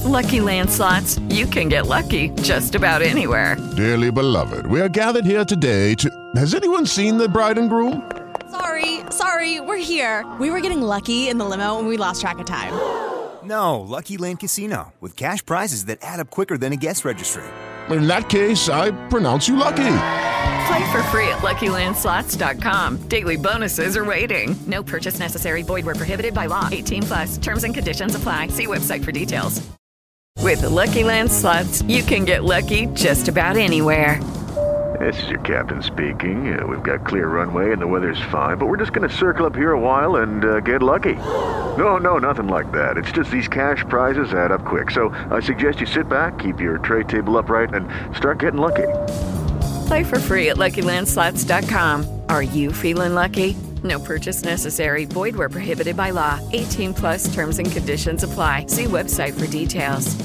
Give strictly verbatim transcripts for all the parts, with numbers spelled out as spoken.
Lucky Land Slots, you can get lucky just about anywhere. Dearly beloved, we are gathered here today to... Has anyone seen the bride and groom? Sorry, sorry, we're here. We were getting lucky in the limo and we lost track of time. No, Lucky Land Casino, with cash prizes that add up quicker than a guest registry. In that case, I pronounce you lucky. Play for free at Lucky Land Slots dot com. Daily bonuses are waiting. No purchase necessary. Void where prohibited by law. eighteen plus. Terms and conditions apply. See website for details. With the Lucky Land Slots, you can get lucky just about anywhere. This is your captain speaking. Uh, we've got clear runway and the weather's fine, but we're just going to circle up here a while and uh, get lucky. No, no, nothing like that. It's just these cash prizes add up quick. So I suggest you sit back, keep your tray table upright, and start getting lucky. Play for free at Lucky Land Slots dot com. Are you feeling lucky? No purchase necessary. Void where prohibited by law. eighteen plus terms and conditions apply. See website for details.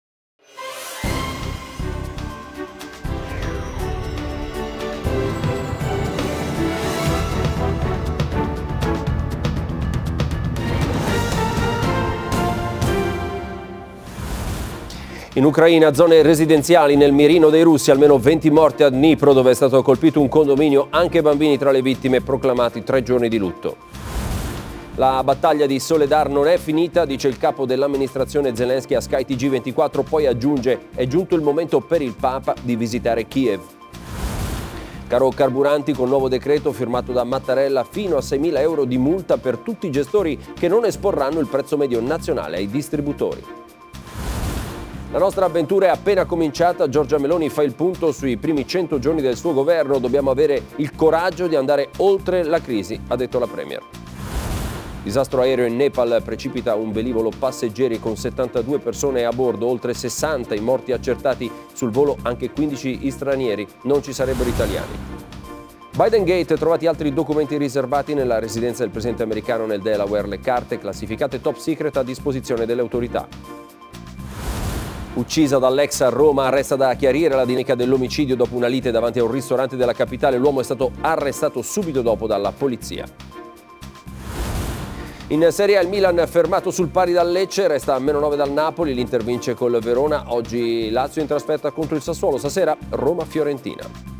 In Ucraina, zone residenziali nel mirino dei russi, almeno venti morti a Dnipro, dove è stato colpito un condominio, anche bambini tra le vittime, proclamati tre giorni di lutto. La battaglia di Soledar non è finita, dice il capo dell'amministrazione Zelensky a Sky T G ventiquattro, poi aggiunge: è giunto il momento per il Papa di visitare Kiev. Caro carburanti, con nuovo decreto firmato da Mattarella, fino a seimila euro di multa per tutti i gestori che non esporranno il prezzo medio nazionale ai distributori. La nostra avventura è appena cominciata. Giorgia Meloni fa il punto sui primi cento giorni del suo governo. Dobbiamo avere il coraggio di andare oltre la crisi, ha detto la Premier. Disastro aereo in Nepal, precipita un velivolo passeggeri con settantadue persone a bordo, oltre sessanta i morti accertati sul volo, anche quindici stranieri, non ci sarebbero italiani. Biden Gate, trovati altri documenti riservati nella residenza del presidente americano nel Delaware, le carte classificate top secret a disposizione delle autorità. Uccisa dall'ex a Roma, resta da chiarire la dinamica dell'omicidio dopo una lite davanti a un ristorante della capitale. L'uomo è stato arrestato subito dopo dalla polizia. In Serie A il Milan fermato sul pari dal Lecce, resta a meno nove dal Napoli, l'Inter vince col Verona. Oggi Lazio in trasferta contro il Sassuolo, stasera Roma-Fiorentina.